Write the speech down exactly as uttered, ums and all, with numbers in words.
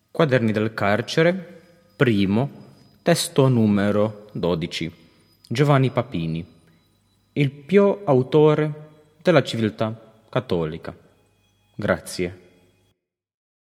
Quaderni del carcere, primo, testo numero dodici. Giovanni Papini, il pio autore della civiltà cattolica. Grazie.